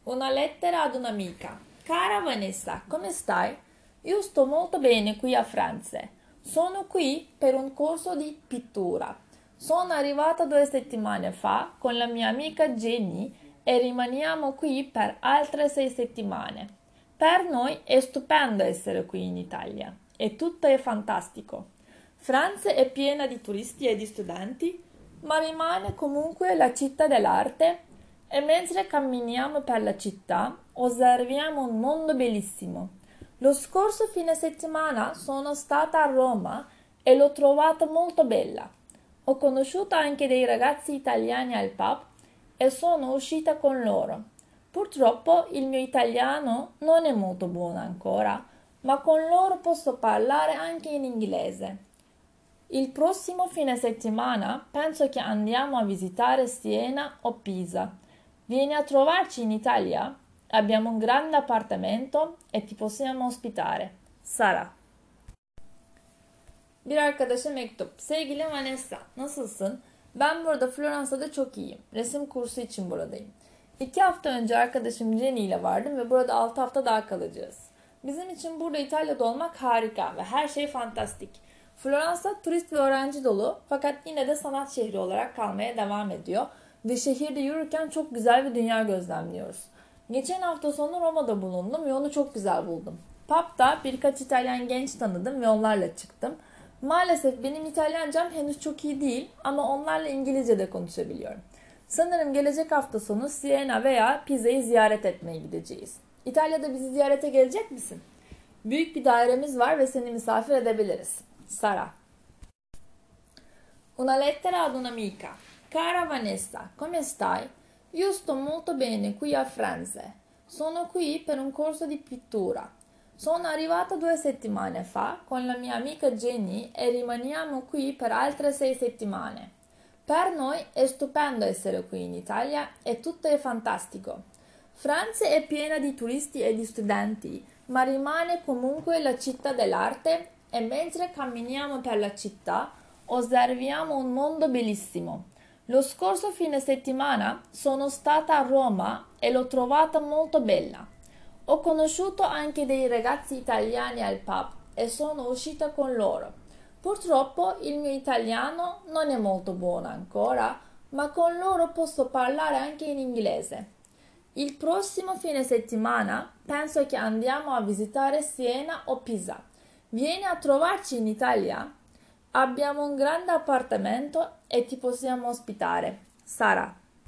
Una lettera ad un'amica. Cara Vanessa, come stai? Io sto molto bene qui a Firenze. Sono qui per un corso di pittura. Sono arrivata 2 settimane fa con la mia amica Jenny e rimaniamo qui per altre 6 settimane. Per noi è stupendo essere qui in Italia e tutto è fantastico. Firenze è piena di turisti e di studenti, ma rimane comunque la città dell'arte e mentre camminiamo per la città osserviamo un mondo bellissimo. Lo scorso fine settimana sono stata a Roma e l'ho trovata molto bella. Ho conosciuto anche dei ragazzi italiani al pub e sono uscita con loro. Purtroppo il mio italiano non è molto buono ancora, ma con loro posso parlare anche in inglese. Il prossimo fine settimana penso che andiamo a visitare Siena o Pisa. Vieni a trovarci in Italia? Abbiamo un grande appartamento e ti possiamo ospitare. Sara. Bir arkadaşa mektup. Sevgili Vanessa, nasılsın? Ben burada Floransa'da çok iyiyim. Resim kursu için buradayım. 2 hafta önce arkadaşım Jenny ile vardım ve burada 6 hafta daha kalacağız. Bizim için burada İtalya'da olmak harika ve her şey fantastik. Floransa turist ve öğrenci dolu fakat yine de sanat şehri olarak kalmaya devam ediyor ve şehirde yürürken çok güzel bir dünya gözlemliyoruz. Geçen hafta sonu Roma'da bulundum ve onu çok güzel buldum. Pub'da birkaç İtalyan genç tanıdım ve onlarla çıktım. Maalesef benim İtalyancam henüz çok iyi değil ama onlarla İngilizce de konuşabiliyorum. Sanırım gelecek hafta sonu Siena veya Pisa'yı ziyaret etmeye gideceğiz. İtalya'da bizi ziyarete gelecek misin? Büyük bir dairemiz var ve seni misafir edebiliriz. Sara. Una lettera ad un'amica. Cara Vanessa, come stai? Io sto molto bene qui a Firenze. Sono qui per un corso di pittura. Sono arrivata 2 settimane fa con la mia amica Jenny e rimaniamo qui per altre 6 settimane. Per noi è stupendo essere qui in Italia e tutto è fantastico. Firenze è piena di turisti e di studenti, ma rimane comunque la città dell'arte e mentre camminiamo per la città osserviamo un mondo bellissimo. Lo scorso fine settimana sono stata a Roma e l'ho trovata molto bella. Ho conosciuto anche dei ragazzi italiani al pub e sono uscita con loro. Purtroppo il mio italiano non è molto buono ancora, ma con loro posso parlare anche in inglese. Il prossimo fine settimana penso che andiamo a visitare Siena o Pisa. Vieni a trovarci in Italia? Abbiamo un grande appartamento e ti possiamo ospitare. Sara.